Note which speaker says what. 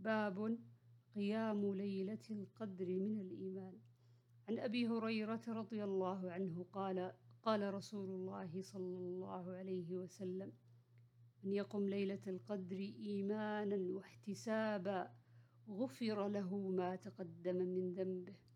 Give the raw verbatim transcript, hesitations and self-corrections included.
Speaker 1: باب قيام ليلة القدر من الإيمان. عن أبي هريرة رضي الله عنه قال قال رسول الله صلى الله عليه وسلم: من يقم ليلة القدر إيمانا واحتسابا غفر له ما تقدم من ذنبه